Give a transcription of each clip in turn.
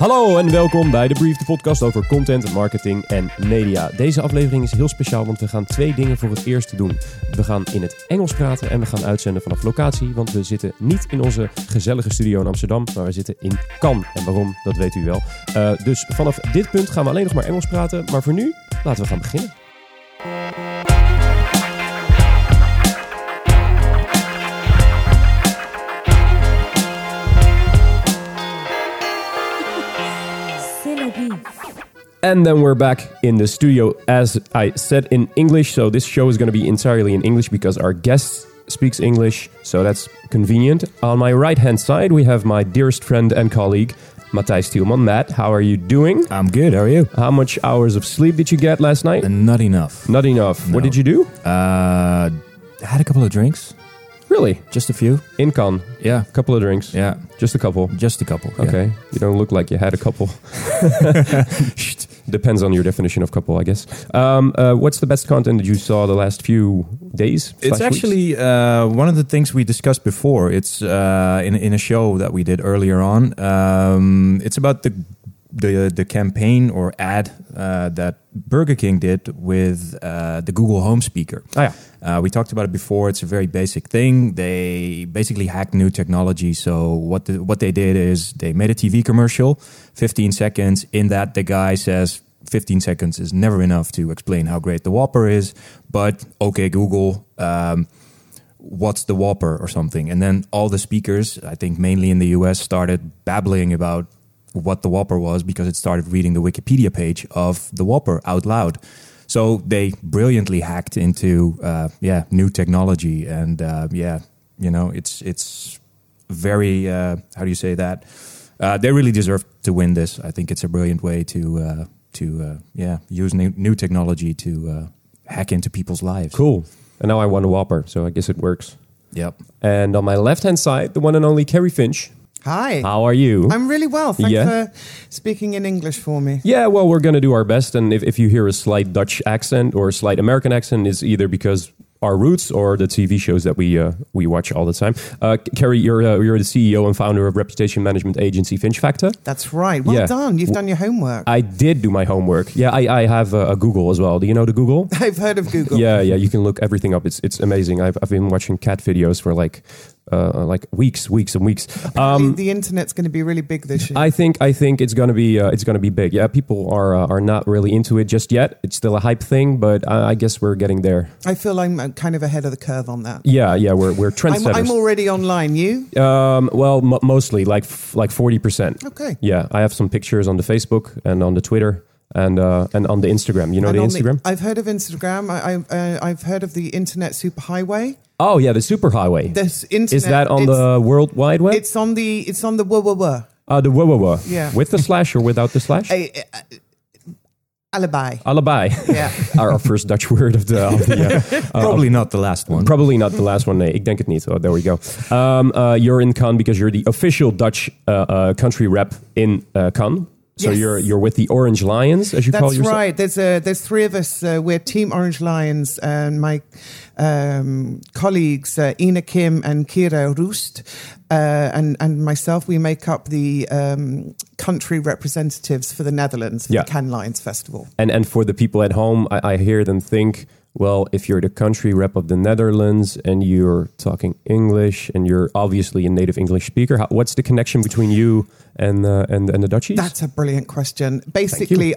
Hallo en welkom bij The Brief, de podcast over content, marketing en media. Deze aflevering is heel speciaal, want we gaan 2 dingen voor het eerst doen. We gaan in het Engels praten en we gaan uitzenden vanaf locatie, want we zitten niet in onze gezellige studio in Amsterdam, maar we zitten in Cannes. En waarom, dat weet u wel. Dus vanaf dit punt gaan we alleen nog maar Engels praten, maar voor nu, laten we gaan beginnen. And then we're back in the studio, as I said, in English. So this show is going to be entirely in English because our guest speaks English, so that's convenient. On my right-hand side, we have my dearest friend and colleague, Matthijs Tielman. Matt, how are you doing? I'm good, how are you? How much hours of sleep did you get last night? Not enough. Not enough. No. What did you do? I had a couple of drinks. Really? Just a few. In Cannes? Yeah. A couple of drinks? Yeah. Just a couple? Just a couple, Okay. yeah. You don't look like you had a couple. Depends on your definition of couple, I guess. What's the best content that you saw the last few days? It's actually one of the things we discussed before. It's in a show that we did earlier on. It's about the campaign or ad that Burger King did with the Google Home speaker. Oh, yeah. We talked about it before. It's a very basic thing. They basically hacked new technology. So what they did is they made a TV commercial, 15 seconds. In that, the guy says 15 seconds is never enough to explain how great the Whopper is. But okay, Google, what's the Whopper or something? And then all the speakers, I think mainly in the US, started babbling about what the Whopper was because it started reading the Wikipedia page of the Whopper out loud. So they brilliantly hacked into new technology, and it's very how do you say that? They really deserve to win this. I think it's a brilliant way to use new technology to hack into people's lives. Cool. And now I want a Whopper, so I guess it works. Yep. And on my left-hand side, the one and only Carrie Finch. Hi. How are you? I'm really well. Thanks for speaking in English for me. Yeah, well, we're going to do our best. And if you hear a slight Dutch accent or a slight American accent, it's either because our roots or the TV shows that we watch all the time. Carrie, you're the CEO and founder of reputation management agency Finch Factor. That's right. Well done. You've done your homework. I did do my homework. Yeah, I have a Google as well. Do you know the Google? I've heard of Google. Yeah. You can look everything up. It's amazing. I've been watching cat videos for like weeks and weeks. The internet's going to be really big this year. I think it's going to be big. Yeah, people are not really into it just yet. It's still a hype thing, but I guess we're getting there. I feel I'm kind of ahead of the curve on that. Yeah, we're trendsetters. I'm already online. You? Mostly like 40%. Okay. Yeah, I have some pictures on the Facebook and on the Twitter. And on the Instagram. You know the Instagram? I've heard of Instagram. I've heard of the internet superhighway. Oh yeah, the superhighway. Is that on the World Wide Web? It's on the WWW. The WWW. Yeah. With the slash or without the slash? Alibi. Yeah. Our first Dutch word of the Probably not the last one. Probably not the last one. Nee, ik denk het niet. Oh, there we go. You're in Cannes because you're the official Dutch country rep in Cannes. So yes. you're with the Orange Lions, as you call yourself? That's right. There's 3 of us. We're Team Orange Lions, and my colleagues Ina Kim and Kira Roest, and myself. We make up the country representatives for the Netherlands for the Cannes Lions Festival. And for the people at home, I hear them think, well, if you're the country rep of the Netherlands and you're talking English and you're obviously a native English speaker, what's the connection between you and the Dutchies? That's a brilliant question. Basically,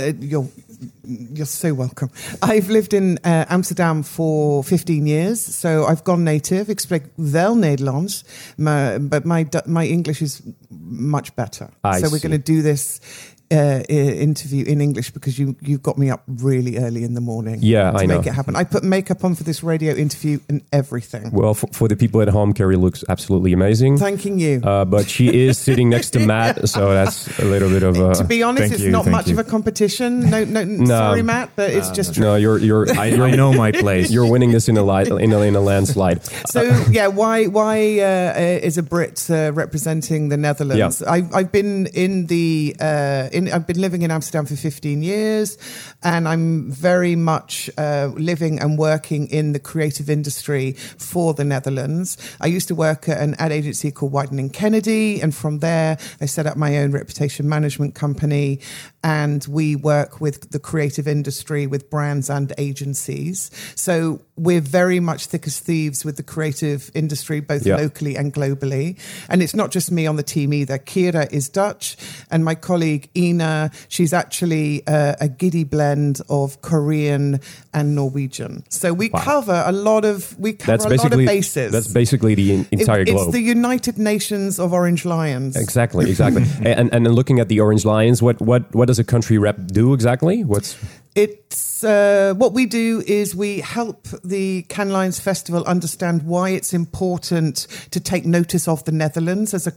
you're so welcome. I've lived in Amsterdam for 15 years, so I've gone native. Ik spreek wel Nederlands, but my English is much better. So we're going to do this interview in English because you got me up really early in the morning to make it happen. I put makeup on for this radio interview and everything. Well, for the people at home, Carrie looks absolutely amazing. Thanking you. But she is sitting next to Matt, so that's a little bit of a... To be honest, it's not much of a competition. No, sorry, Matt, but it's just true. No, I know my place. You're winning this in a landslide. So, why is a Brit representing the Netherlands? Yeah. I've been in the I've been living in Amsterdam for 15 years, and I'm very much living and working in the creative industry for the Netherlands. I used to work at an ad agency called Wieden & Kennedy, and from there I set up my own reputation management company, and we work with the creative industry, with brands and agencies. So we're very much thick as thieves with the creative industry, both locally and globally. And it's not just me on the team either. Kira is Dutch, and my colleague Ina, she's actually a giddy blend of Korean and Norwegian. So we cover a lot of bases. That's basically the entire globe. It's the United Nations of Orange Lions. Exactly. and then looking at the Orange Lions, what does a country rep do exactly? It's what we do is we help the Cannes Lions Festival understand why it's important to take notice of the Netherlands as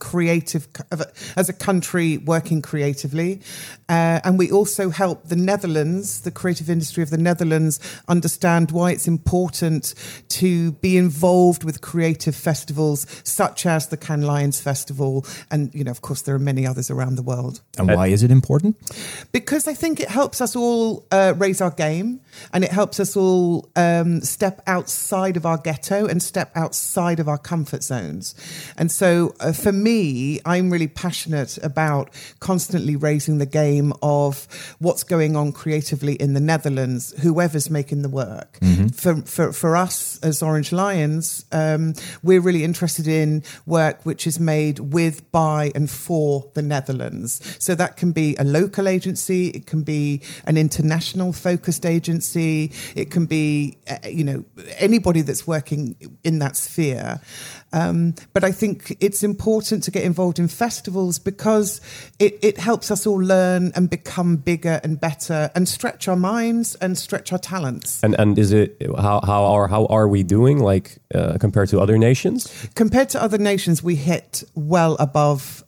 a country working creatively, and we also help the Netherlands, the creative industry of the Netherlands, understand why it's important to be involved with creative festivals such as the Cannes Lions Festival, and of course there are many others around the world. And why is it important? Because I think it helps us all raise our game, and it helps us all step outside of our ghetto and step outside of our comfort zones. And so for me, I'm really passionate about constantly raising the game of what's going on creatively in the Netherlands, whoever's making the work. Mm-hmm. For us as Orange Lions, we're really interested in work which is made with, by and for the Netherlands. So that can be a local agency, it can be an international focused agency, it can be anybody that's working in that sphere. But I think it's important to get involved in festivals because it helps us all learn and become bigger and better and stretch our minds and stretch our talents. And is it how are we doing compared to other nations? Compared to other nations, we hit well above.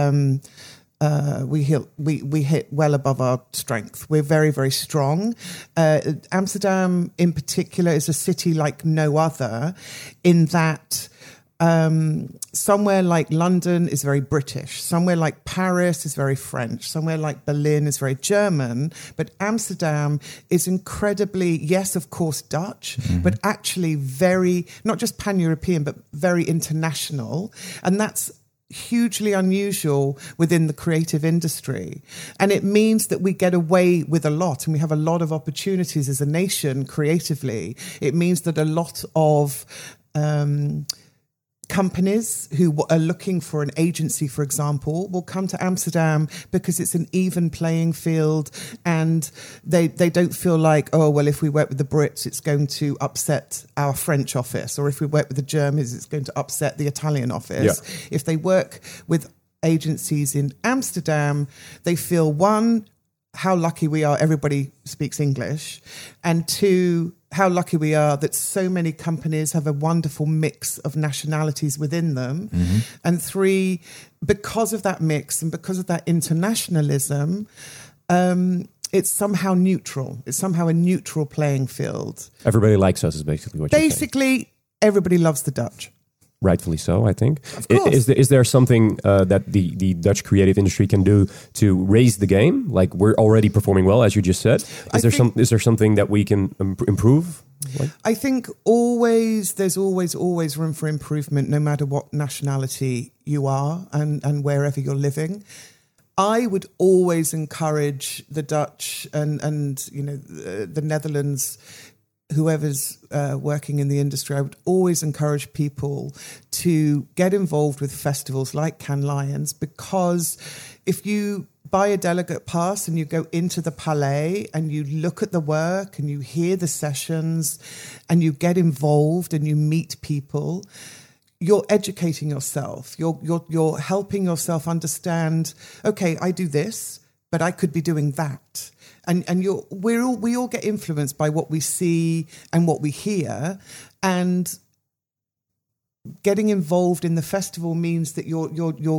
We hit well above our strength. We're very, very strong. Amsterdam, in particular, is a city like no other, in that somewhere like London is very British, somewhere like Paris is very French, somewhere like Berlin is very German, but Amsterdam is incredibly, yes, of course, Dutch, but actually very, not just pan-European, but very international. And that's hugely unusual within the creative industry. And it means that we get away with a lot, and we have a lot of opportunities as a nation creatively. It means that a lot of companies who are looking for an agency, for example, will come to Amsterdam because it's an even playing field, and they don't feel like, oh, well, if we work with the Brits, it's going to upset our French office, or if we work with the Germans, it's going to upset the Italian office. Yeah. If they work with agencies in Amsterdam, they feel, one, how lucky we are everybody speaks English, and two, how lucky we are that so many companies have a wonderful mix of nationalities within them. Mm-hmm. And three, because of that mix and because of that internationalism, it's somehow neutral. It's somehow a neutral playing field. Everybody likes us is basically what you're saying. Basically, everybody loves the Dutch. Rightfully so, I think. Of course. Is there something that the Dutch creative industry can do to raise the game? Like, we're already performing well, as you just said. Is there something that we can improve? I think there's always room for improvement, no matter what nationality you are and wherever you're living. I would always encourage the Dutch and the Netherlands, whoever's working in the industry, I would always encourage people to get involved with festivals like Cannes Lions, because if you buy a delegate pass and you go into the Palais and you look at the work and you hear the sessions and you get involved and you meet people, you're educating yourself. You're helping yourself understand, okay, I do this, but I could be doing that. And we all get influenced by what we see and what we hear, and getting involved in the festival means that you're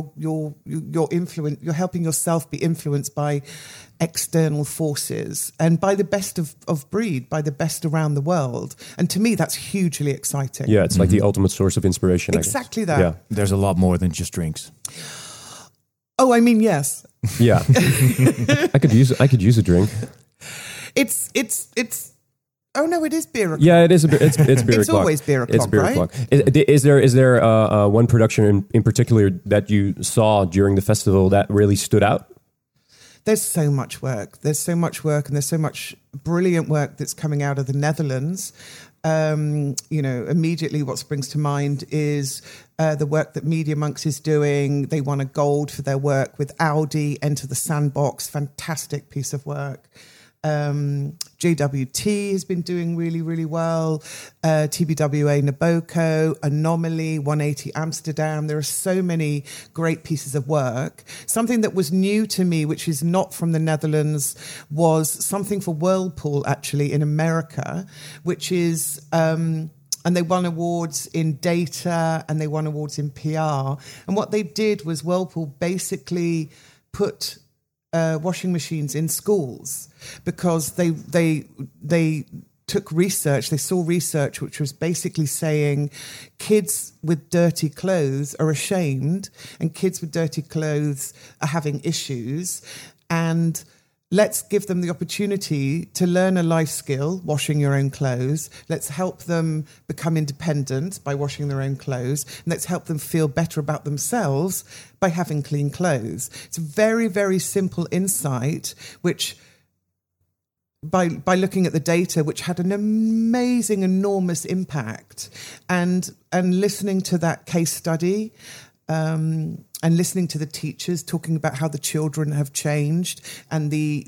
helping yourself be influenced by external forces and by the best of breed, by the best around the world. And to me, that's hugely exciting. Yeah, it's like the ultimate source of inspiration. Exactly that. Yeah. There's a lot more than just drinks. Oh, I mean, yes. Yeah. I could use a drink. It's. Oh no, it is beer o'clock. Yeah, it is. It's beer It's o'clock. always beer o'clock, It's beer right? o'clock. Is there one production in particular that you saw during the festival that really stood out? There's so much work. There's so much work, and there's so much brilliant work that's coming out of the Netherlands. Immediately what springs to mind is the work that Media Monks is doing. They won a gold for their work with Audi, Enter the Sandbox, fantastic piece of work. JWT has been doing really, really well. TBWA Naboko, Anomaly, 180 Amsterdam. There are so many great pieces of work. Something that was new to me, which is not from the Netherlands, was something for Whirlpool, actually, in America, which is... and they won awards in data and they won awards in PR. And what they did was Whirlpool basically put washing machines in schools because they took research. They saw research which was basically saying kids with dirty clothes are ashamed and kids with dirty clothes are having issues, and let's give them the opportunity to learn a life skill, washing your own clothes. Let's help them become independent by washing their own clothes. And let's help them feel better about themselves by having clean clothes. It's a very, very simple insight, which by looking at the data, which had an amazing, enormous impact. And listening to that case study, and listening to the teachers talking about how the children have changed, and the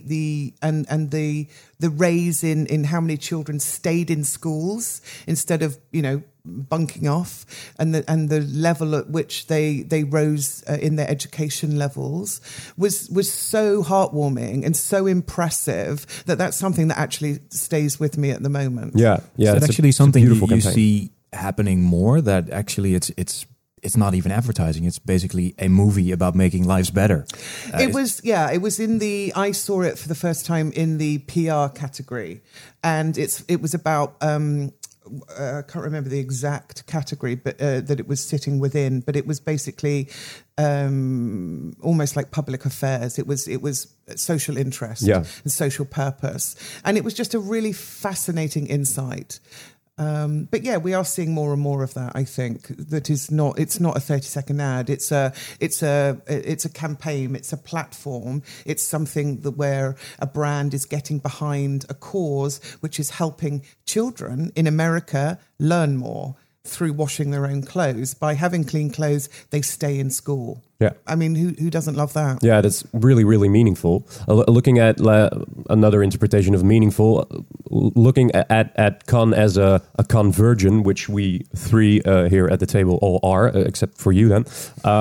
raise in how many children stayed in schools instead of bunking off, and the level at which they rose in their education levels was so heartwarming and so impressive that's something that actually stays with me at the moment. Yeah. So it's actually something you campaign. see happening more, that actually it's not even advertising. It's basically a movie about making lives better. I saw it for the first time in the PR category, and it was about, I can't remember the exact category, but that it was sitting within, but it was basically almost like public affairs. It was social interest and social purpose. And it was just a really fascinating insight. But yeah, we are seeing more and more of that. I think that it's not a 30-second ad. It's a campaign. It's a platform. It's something where a brand is getting behind a cause, which is helping children in America learn more through washing their own clothes. By having clean clothes, they stay in school. Yeah. I mean, who doesn't love that? Yeah, that's really, really meaningful. Looking at another interpretation of meaningful, looking at con as a conversion, which we three here at the table all are, except for you then.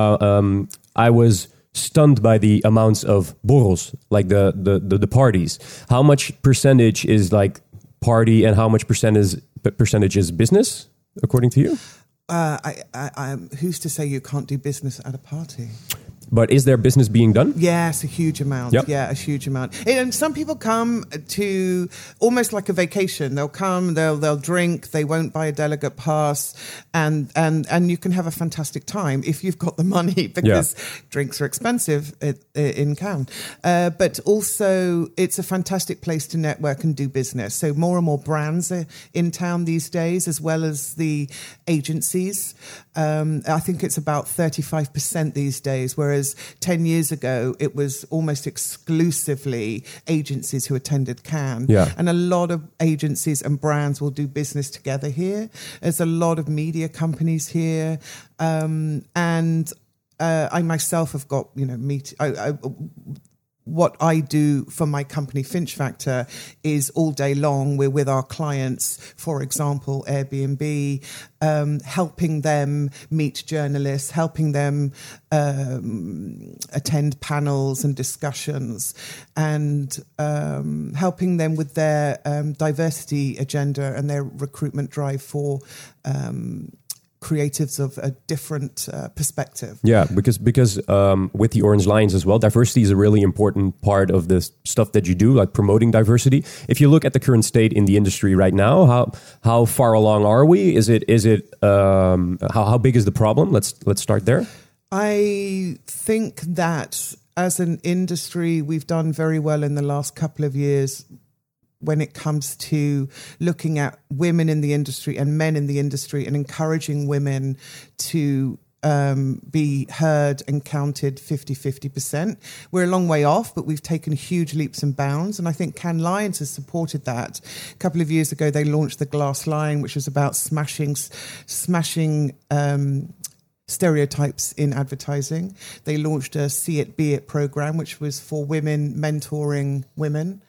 I was stunned by the amounts of borrels, like the parties. How much percentage is like party and how much percentage is business, according to you? Who's to say you can't do business at a party? But is there business being done? Yes, a huge amount. Yep. Yeah, a huge amount. And some people come to almost like a vacation. They'll come, they'll drink, they won't buy a delegate pass, and you can have a fantastic time if you've got the money, because drinks are expensive in Cannes. But also, it's a fantastic place to network and do business. So more and more brands are in town these days, as well as the agencies. I think it's about 35% these days, whereas 10 years ago, it was almost exclusively agencies who attended Cannes. Yeah. And a lot of agencies and brands will do business together here. There's a lot of media companies here. And I myself have got, what I do for my company, Finch Factor, is all day long we're with our clients, for example, Airbnb, helping them meet journalists, helping them attend panels and discussions, and helping them with their diversity agenda and their recruitment drive for creatives of a different perspective. Yeah, because with the Orange Lions as well, diversity is a really important part of the stuff that you do, like promoting diversity. If you look at the current state in the industry right now, how far along are we? Is it how big is the problem? Let's start there. I think that as an industry, we've done very well in the last couple of years when it comes to looking at women in the industry and men in the industry and encouraging women to be heard and counted 50%. We're a long way off, but we've taken huge leaps and bounds. And I think Cannes Lions has supported that. A couple of years ago, they launched the Glass Line, which was about smashing stereotypes in advertising. They launched a See It, Be It program, which was for women, mentoring women.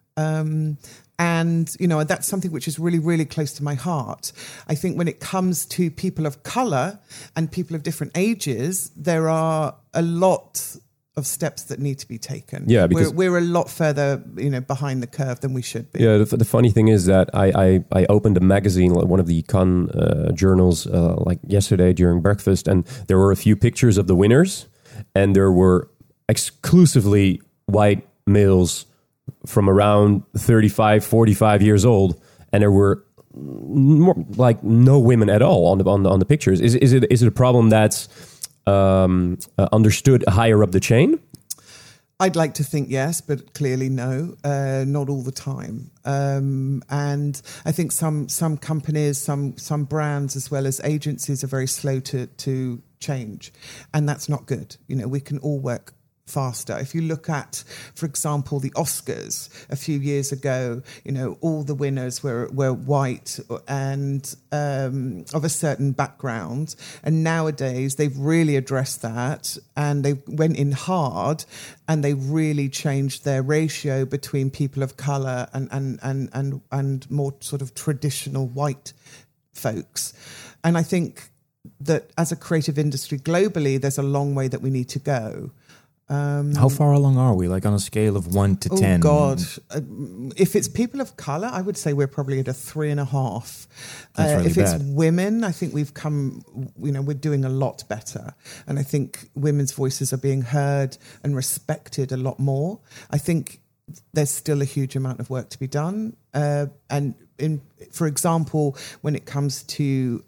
And, that's something which is really, really close to my heart. I think when it comes to people of colour and people of different ages, there are a lot of steps that need to be taken. Yeah, because we're a lot further, behind the curve than we should be. Yeah, the funny thing is that I opened a magazine, one of the Cannes journals, like yesterday during breakfast, and there were a few pictures of the winners, and there were exclusively white males from around 35, 45 years old, and there were more, like no women at all on the pictures. Is it a problem that's understood higher up the chain? I'd like to think yes, but clearly no, not all the time. And I think some companies, some brands, as well as agencies, are very slow to change, and that's not good. We can all work faster. If you look at, for example, the Oscars a few years ago, all the winners were white and of a certain background. And nowadays they've really addressed that, and they went in hard, and they really changed their ratio between people of colour and more sort of traditional white folks. And I think that as a creative industry globally, there's a long way that we need to go. How far along are we? Like on a scale of 1 to 10? Oh God! If it's people of color, I would say we're probably at a 3.5. That's really if it's bad. women, I think we've come. We're doing a lot better, and I think women's voices are being heard and respected a lot more. I think there's still a huge amount of work to be done, and for example, when it comes to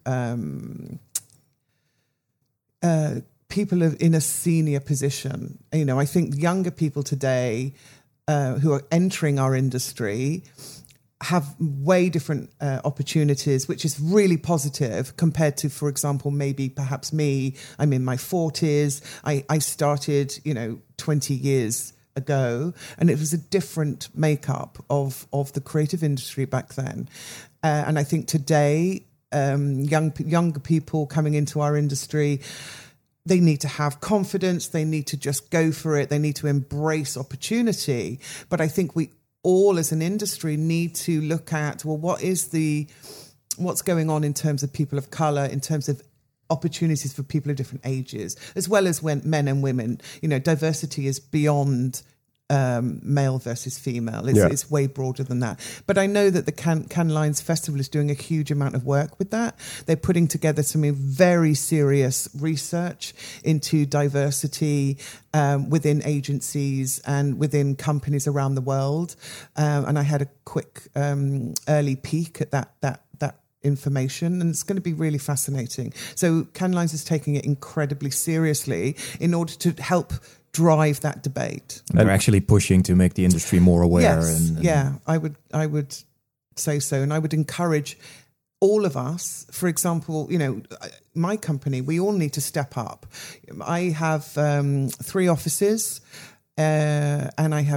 people in a senior position, I think younger people today who are entering our industry have way different opportunities, which is really positive compared to, for example, maybe perhaps me. I'm in my 40s. I started, 20 years ago, and it was a different makeup of the creative industry back then. And I think today, younger people coming into our industry, they need to have confidence. They need to just go for it. They need to embrace opportunity. But I think we all as an industry need to look at, well, what's going on in terms of people of colour, in terms of opportunities for people of different ages, as well as men and women. Diversity is beyond male versus female. It's way broader than that. But I know that the Cannes Lions Festival is doing a huge amount of work with that. They're putting together some very serious research into diversity within agencies and within companies around the world. And I had a quick early peek at that information, and it's going to be really fascinating. So Cannes Lions is taking it incredibly seriously in order to help drive that debate. And they're actually pushing to make the industry more aware. Yes, I would say so, and I would encourage all of us. For example, my company, we all need to step up. I have 3 offices, and I have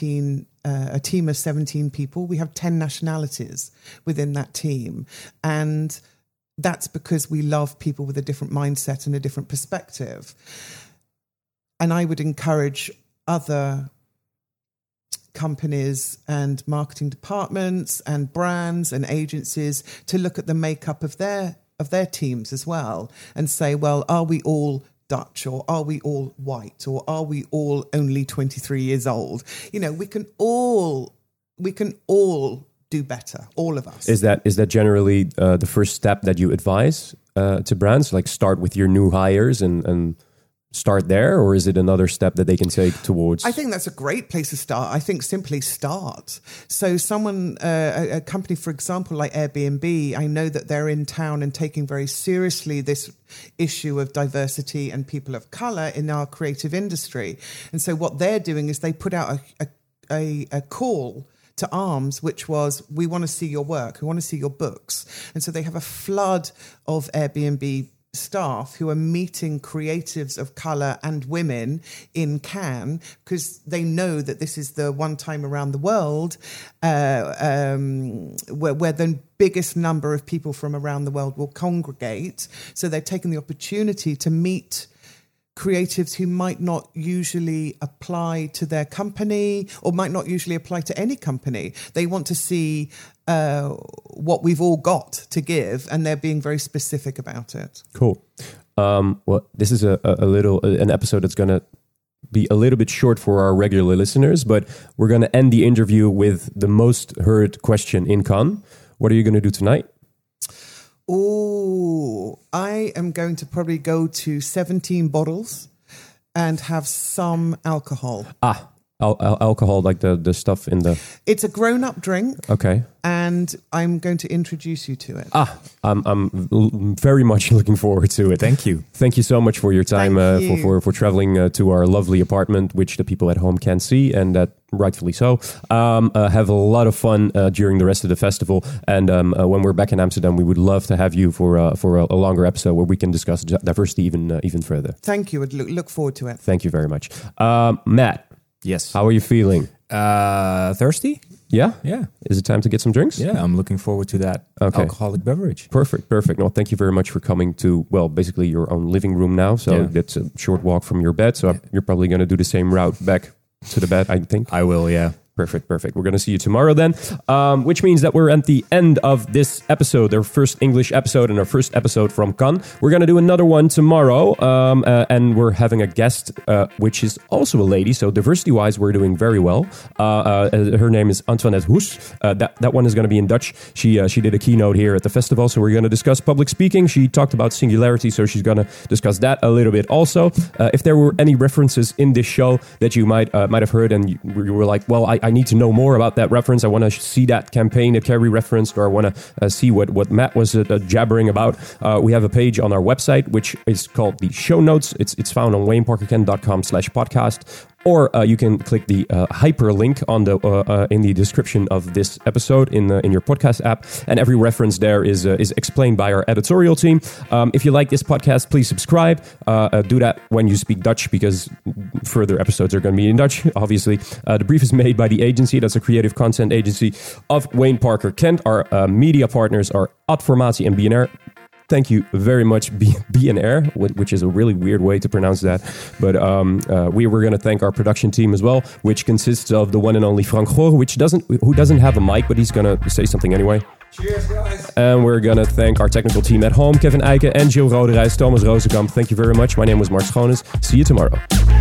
a team of 17 people. We have 10 nationalities within that team, and that's because we love people with a different mindset and a different perspective. And I would encourage other companies and marketing departments and brands and agencies to look at the makeup of their teams as well and say, well, are we all Dutch, or are we all white, or are we all only 23 years old? We can all do better, all of us. Is that generally the first step that you advise to brands? Like start with your new hires and start there, or is it another step that they can take towards? I think that's a great place to start. I think simply start. So someone, a company, for example, like Airbnb, I know that they're in town and taking very seriously this issue of diversity and people of color in our creative industry. And so what they're doing is they put out a call to arms, which was, we want to see your work, we want to see your books. And so they have a flood of Airbnb staff who are meeting creatives of colour and women in Cannes, because they know that this is the one time around the world where the biggest number of people from around the world will congregate. So they're taking the opportunity to meet creatives who might not usually apply to their company or might not usually apply to any company. They want to see what we've all got to give, and they're being very specific about it. Cool. Well, this is an episode that's going to be a little bit short for our regular listeners, but we're going to end the interview with the most heard question in Cannes. What are you going to do tonight? Oh, I am going to probably go to 17 bottles and have some alcohol. Alcohol, like the stuff in the... It's a grown-up drink. Okay. And I'm going to introduce you to it. I'm very much looking forward to it. Thank you. Thank you so much for your time, for traveling to our lovely apartment, which the people at home can't see, and that rightfully so. Have a lot of fun during the rest of the festival. And when we're back in Amsterdam, we would love to have you for a longer episode where we can discuss diversity even further. Thank you. I'd look forward to it. Thank you very much. Matt. Yes. How are you feeling? Thirsty? Yeah? Yeah. Is it time to get some drinks? Yeah, I'm looking forward to that alcoholic beverage. Perfect. Well, thank you very much for coming to, basically your own living room now. So that's a short walk from your bed. So you're probably going to do the same route back to the bed, I think. I will, yeah. Perfect. We're going to see you tomorrow then, which means that we're at the end of this episode, our first English episode and our first episode from Cannes. We're going to do another one tomorrow, and we're having a guest, which is also a lady. So diversity-wise, we're doing very well. Her name is Antoinette Hoes. That one is going to be in Dutch. She did a keynote here at the festival, so we're going to discuss public speaking. She talked about singularity, so she's going to discuss that a little bit also. If there were any references in this show that you might have heard and you were like, well, I need to know more about that reference. I want to see that campaign that Carrie referenced, or I want to see what Matt was jabbering about. We have a page on our website, which is called the show notes. It's found on wayneparkerkent.com/podcast. Or you can click the hyperlink on in the description of this episode in your podcast app, and every reference there is explained by our editorial team. If you like this podcast, please subscribe. Do that when you speak Dutch, because further episodes are going to be in Dutch. Obviously, the brief is made by the agency. That's a creative content agency of Wayne Parker Kent. Our media partners are Adformatie and BNR. Thank you very much, BNR, which is a really weird way to pronounce that. But we were going to thank our production team as well, which consists of the one and only Frank Goor, who doesn't have a mic, but he's going to say something anyway. Cheers, guys. And we're going to thank our technical team at home, Kevin Eiken and Jill Roderijs, Thomas Rozenkamp. Thank you very much. My name was Mark Schoones. See you tomorrow.